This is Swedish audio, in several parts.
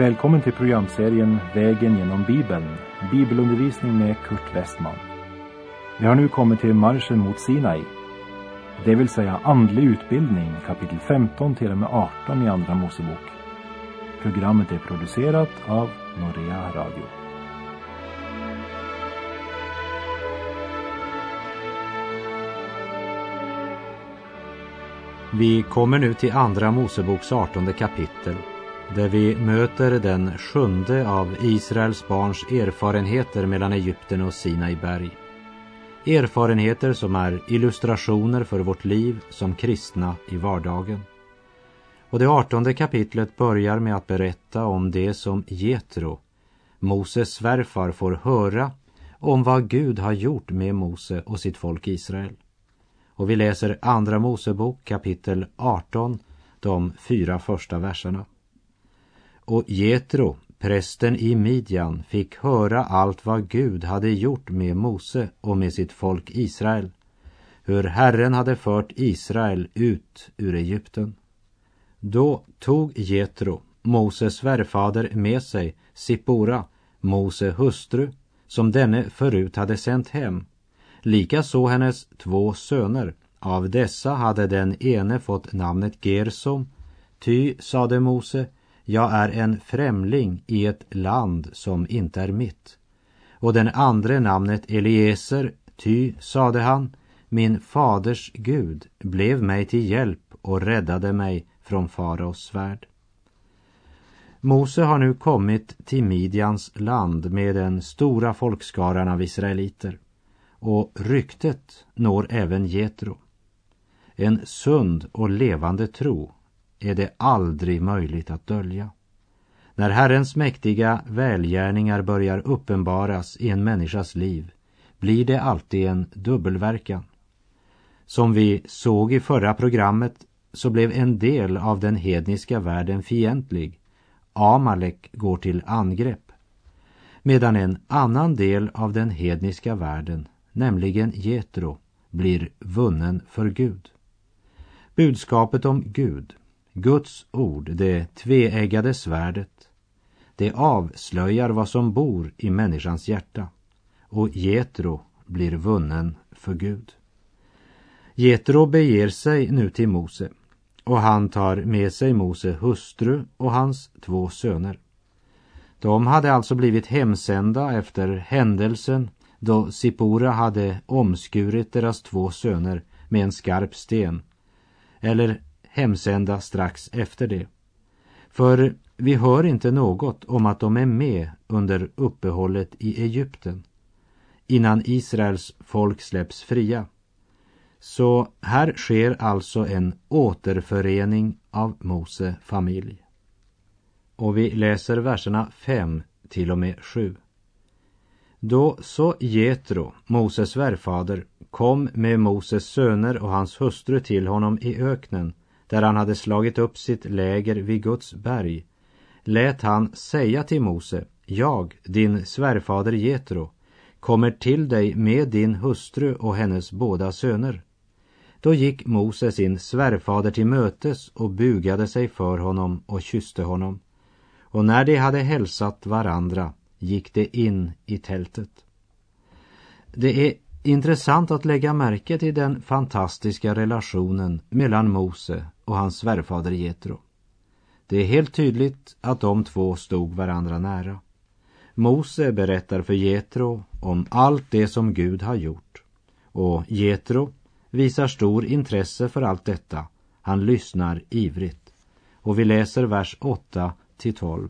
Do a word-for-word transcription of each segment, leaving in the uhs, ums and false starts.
Välkommen till programserien Vägen genom Bibeln, bibelundervisning med Kurt Westman. Vi har nu kommit till marschen mot Sinai, det vill säga andlig utbildning, kapitel femton till och med arton i Andra Mosebok. Programmet är producerat av Norea Radio. Vi kommer nu till Andra Moseboks artonde kapitel, där vi möter den sjunde av Israels barns erfarenheter mellan Egypten och Sinai berg. Erfarenheter som är illustrationer för vårt liv som kristna i vardagen. Och det artonde kapitlet börjar med att berätta om det som Jetro, Moses svärfar, får höra om vad Gud har gjort med Mose och sitt folk Israel. Och vi läser Andra Mosebok kapitel arton, de fyra första verserna. Och Jetro, prästen i Midjan, fick höra allt vad Gud hade gjort med Mose och med sitt folk Israel, hur Herren hade fört Israel ut ur Egypten. Då tog Jetro, Moses svärfader, med sig Sippora, Mose hustru, som denne förut hade sänt hem. Likaså hennes två söner. Av dessa hade den ene fått namnet Gersom, ty, sade Mose, jag är en främling i ett land som inte är mitt. Och den andra namnet Eliezer, ty, sade han, min faders Gud blev mig till hjälp och räddade mig från faraos svärd. Mose har nu kommit till Midjans land med den stora folkskaran av israeliter. Och ryktet når även Jetro. En sund och levande tro är det aldrig möjligt att dölja. När Herrens mäktiga välgärningar börjar uppenbaras i en människas liv blir det alltid en dubbelverkan. Som vi såg i förra programmet så blev en del av den hedniska världen fientlig. Amalek går till angrepp. Medan en annan del av den hedniska världen, nämligen Jetro, blir vunnen för Gud. Budskapet om Gud, Guds ord, det tveeggade svärdet, det avslöjar vad som bor i människans hjärta, och Jetro blir vunnen för Gud. Jetro beger sig nu till Mose, och han tar med sig Mose hustru och hans två söner. De hade alltså blivit hemsända efter händelsen då Sippora hade omskurit deras två söner med en skarp sten, eller hemsända strax efter det. För vi hör inte något om att de är med under uppehållet i Egypten, innan Israels folk släpps fria. Så här sker alltså en återförening av Mose familj. Och vi läser verserna fem till och med sju. Då så Jetro, Moses svärfader, kom med Moses söner och hans hustru till honom i öknen, där han hade slagit upp sitt läger vid Guds berg, lät han säga till Mose, jag, din svärfader Jetro, kommer till dig med din hustru och hennes båda söner. Då gick Mose sin svärfader till mötes och bugade sig för honom och kysste honom. Och när de hade hälsat varandra gick det in i tältet. Det är intressant att lägga märke till den fantastiska relationen mellan Mose och hans svärfader Jetro. Det är helt tydligt att de två stod varandra nära. Mose berättar för Jetro om allt det som Gud har gjort, och Jetro visar stor intresse för allt detta. Han lyssnar ivrigt. Och vi läser vers åtta till tolv.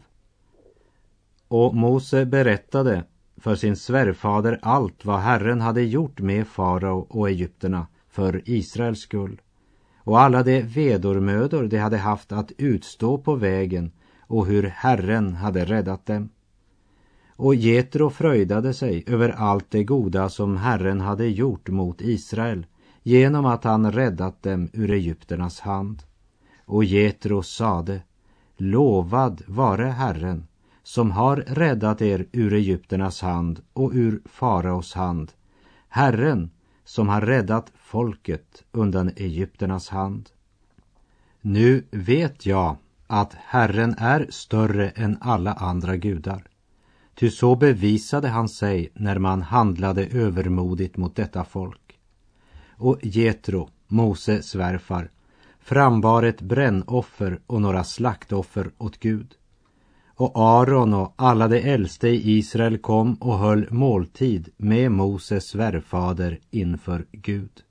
Och Mose berättade för sin svärfader allt vad Herren hade gjort med farao och egypterna för Israels skull, och alla de vedormödor de hade haft att utstå på vägen, och hur Herren hade räddat dem. Och Jetro fröjdade sig över allt det goda som Herren hade gjort mot Israel, genom att han räddat dem ur egypternas hand. Och Jetro sade, lovad vare Herren, som har räddat er ur egypternas hand och ur faraos hand, Herren som har räddat folket undan egypternas hand. Nu vet jag att Herren är större än alla andra gudar. Ty så bevisade han sig när man handlade övermodigt mot detta folk. Och Jetro, Mose svärfar, frambar ett brännoffer och några slaktoffer åt Gud. Och Aron och alla de äldste i Israel kom och höll måltid med Moses svärfader inför Gud.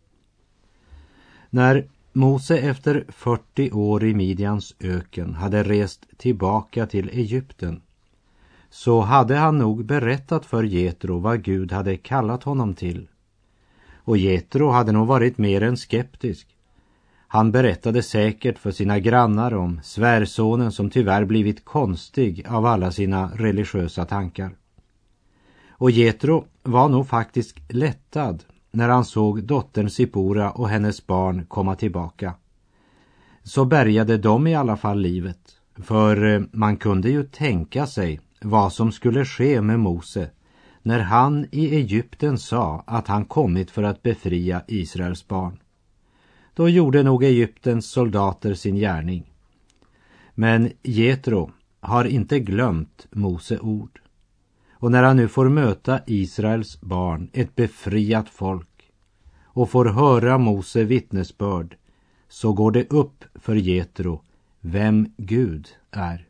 När Mose efter fyrtio år i Midjans öken hade rest tillbaka till Egypten, så hade han nog berättat för Jetro vad Gud hade kallat honom till. Och Jetro hade nog varit mer än skeptisk. Han berättade säkert för sina grannar om svärsonen som tyvärr blivit konstig av alla sina religiösa tankar. Och Jetro var nog faktiskt lättad när han såg dottern Sipora och hennes barn komma tillbaka. Så bärgade de i alla fall livet, för man kunde ju tänka sig vad som skulle ske med Mose när han i Egypten sa att han kommit för att befria Israels barn. Då gjorde nog Egyptens soldater sin gärning. Men Jetro har inte glömt Mose ord. Och när han nu får möta Israels barn, ett befriat folk, och får höra Mose vittnesbörd, så går det upp för Jetro vem Gud är.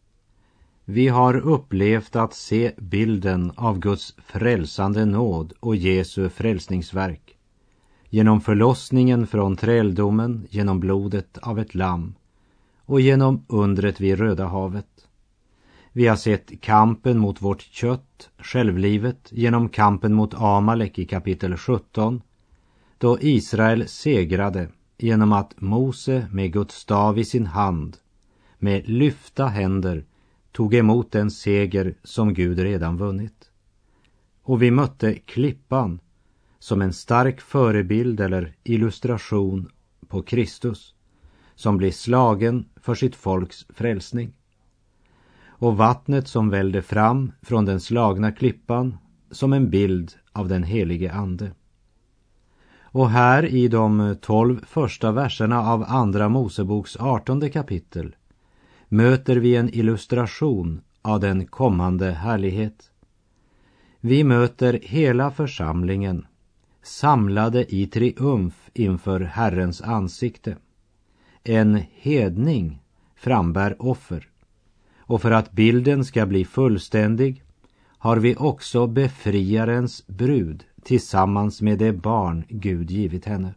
Vi har upplevt att se bilden av Guds frälsande nåd och Jesu frälsningsverk. Genom förlossningen från träldomen, genom blodet av ett lamm och genom undret vid Röda havet. Vi har sett kampen mot vårt kött, självlivet, genom kampen mot Amalek i kapitel sjutton, då Israel segrade genom att Mose med Guds stav i sin hand, med lyfta händer, tog emot den seger som Gud redan vunnit. Och vi mötte klippan som en stark förebild eller illustration på Kristus, som blir slagen för sitt folks frälsning. Och vattnet som vällde fram från den slagna klippan som en bild av den helige ande. Och här i de tolv första verserna av andra Moseboks artonde kapitel möter vi en illustration av den kommande härlighet. Vi möter hela församlingen samlade i triumf inför Herrens ansikte. En hedning frambär offer. Och för att bilden ska bli fullständig har vi också befriarens brud tillsammans med det barn Gud givit henne.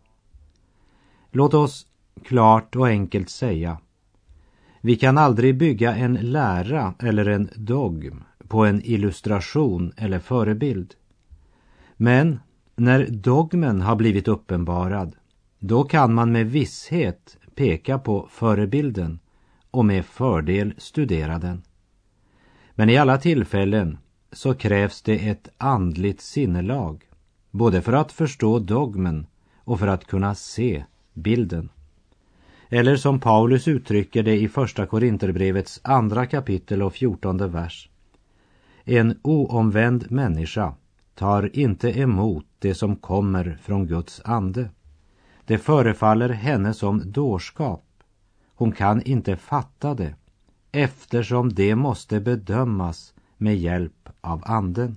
Låt oss klart och enkelt säga: vi kan aldrig bygga en lära eller en dogm på en illustration eller förebild. Men när dogmen har blivit uppenbarad, då kan man med visshet peka på förebilden och med fördel studera den. Men i alla tillfällen så krävs det ett andligt sinnelag, både för att förstå dogmen och för att kunna se bilden. Eller som Paulus uttrycker det i första Korinterbrevets andra kapitel och fjortonde vers: en oomvänd människa tar inte emot det som kommer från Guds ande. Det förefaller henne som dårskap. Hon kan inte fatta det, eftersom det måste bedömas med hjälp av anden.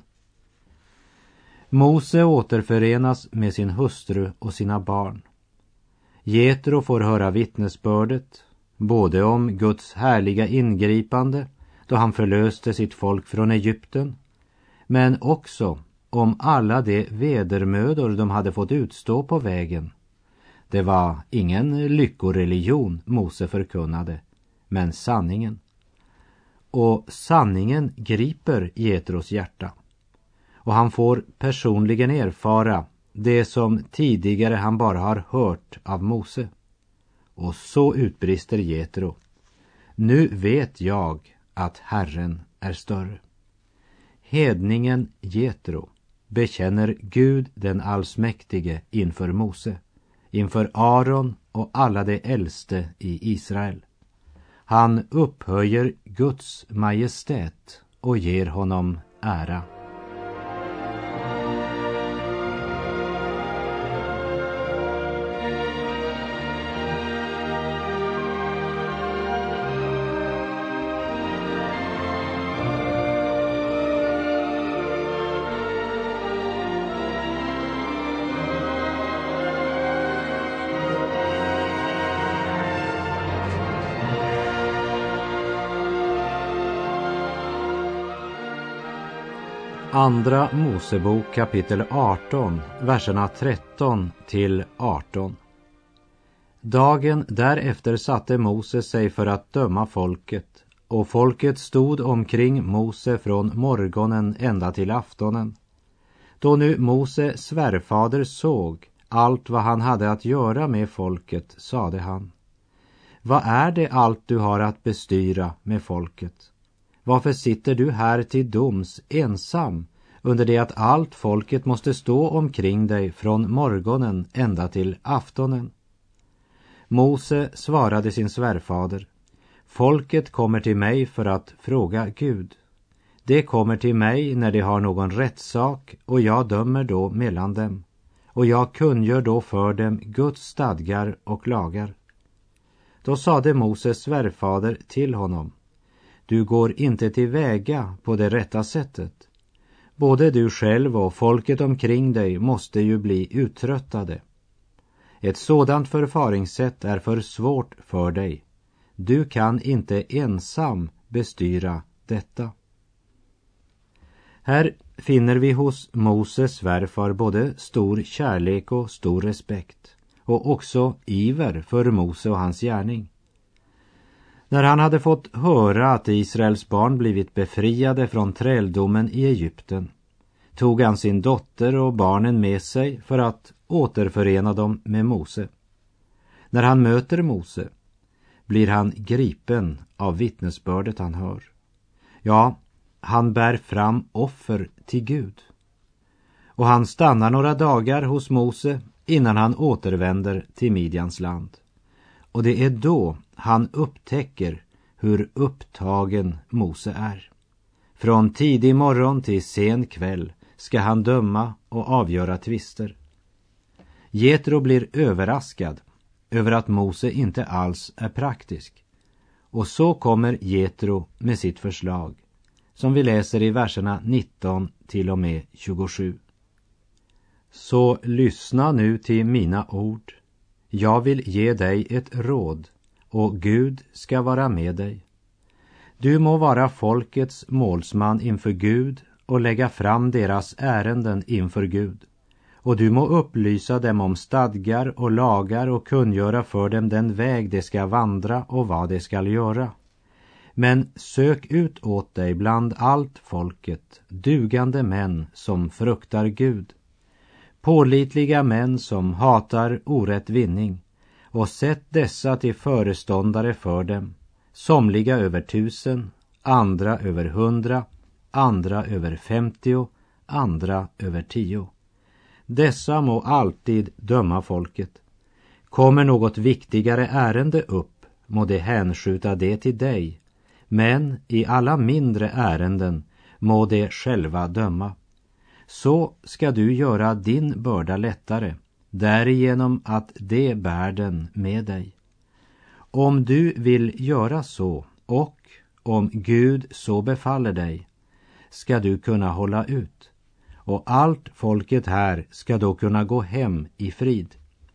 Mose återförenas med sin hustru och sina barn. Jetro får höra vittnesbördet, både om Guds härliga ingripande då han förlöste sitt folk från Egypten, men också om alla de vedermödor de hade fått utstå på vägen. Det var ingen lyckoreligion Mose förkunnade, men sanningen. Och sanningen griper Jetros hjärta. Och han får personligen erfara det som tidigare han bara har hört av Mose. Och så utbrister Jetro: nu vet jag att Herren är större. Hedningen Jetro bekänner Gud den allsmäktige inför Mose, inför Aron och alla de äldste i Israel. Han upphöjer Guds majestät och ger honom ära. Andra Mosebok kapitel arton, verserna tretton till arton. Dagen därefter satte Mose sig för att döma folket, och folket stod omkring Mose från morgonen ända till aftonen. Då nu Mose svärfader såg allt vad han hade att göra med folket, sade han: Vad är det allt du har att bestyra med folket? Varför sitter du här till doms ensam, under det att allt folket måste stå omkring dig från morgonen ända till aftonen? Mose svarade sin svärfader: Folket kommer till mig för att fråga Gud. Det kommer till mig när de har någon rättssak, och jag dömer då mellan dem. Och jag kungör då för dem Guds stadgar och lagar. Då sade Moses svärfader till honom: Du går inte tillväga på det rätta sättet. Både du själv och folket omkring dig måste ju bli uttröttade. Ett sådant förfaringssätt är för svårt för dig. Du kan inte ensam bestyra detta. Här finner vi hos Moses svärfar både stor kärlek och stor respekt, och också iver för Mose och hans gärning. När han hade fått höra att Israels barn blivit befriade från träldomen i Egypten, tog han sin dotter och barnen med sig för att återförena dem med Mose. När han möter Mose blir han gripen av vittnesbördet han hör. Ja, han bär fram offer till Gud. Och han stannar några dagar hos Mose innan han återvänder till Midjans land. Och det är då han upptäcker hur upptagen Mose är. Från tidig morgon till sen kväll ska han döma och avgöra tvister. Jetro blir överraskad över att Mose inte alls är praktisk. Och så kommer Jetro med sitt förslag, som vi läser i verserna nitton till och med tjugosju. Så lyssna nu till mina ord. Jag vill ge dig ett råd, och Gud ska vara med dig. Du må vara folkets målsman inför Gud och lägga fram deras ärenden inför Gud. Och du må upplysa dem om stadgar och lagar och kungöra för dem den väg de ska vandra och vad de ska göra. Men sök ut åt dig bland allt folket dugande män som fruktar Gud, pålitliga män som hatar orätt vinning, och sätt dessa till föreståndare för dem, somliga över tusen, andra över hundra, andra över femtio, andra över tio. Dessa må alltid döma folket. Kommer något viktigare ärende upp, må de hänskjuta det till dig, men i alla mindre ärenden må de själva döma. Så ska du göra din börda lättare, därigenom att de bär den med dig. Om du vill göra så, och om Gud så befaller dig, ska du kunna hålla ut, och allt folket här ska då kunna gå hem i frid.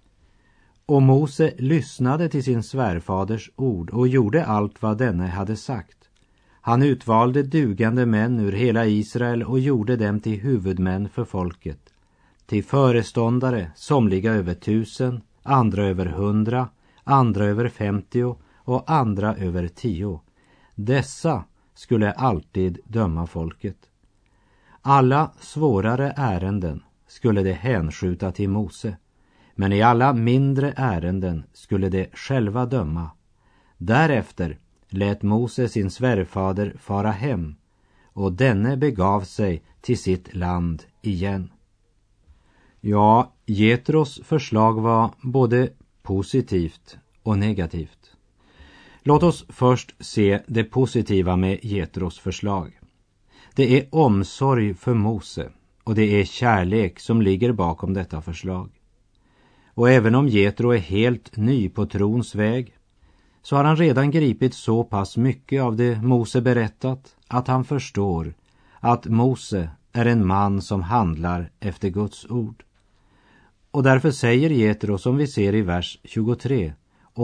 Och Mose lyssnade till sin svärfaders ord och gjorde allt vad denne hade sagt. Han utvalde dugande män ur hela Israel och gjorde dem till huvudmän för folket, till föreståndare, somliga över tusen, andra över hundra, andra över femtio och andra över tio. Dessa skulle alltid döma folket. Alla svårare ärenden skulle de hänskjuta till Mose, men i alla mindre ärenden skulle de själva döma. Därefter lät Mose sin svärfader fara hem, och denne begav sig till sitt land igen. Ja, Jetros förslag var både positivt och negativt. Låt oss först se det positiva med Jetros förslag. Det är omsorg för Mose, och det är kärlek som ligger bakom detta förslag. Och även om Jetro är helt ny på trons väg, så har han redan gripit så pass mycket av det Mose berättat att han förstår att Mose är en man som handlar efter Guds ord. Och därför säger Jetro, som vi ser i vers tjugotre,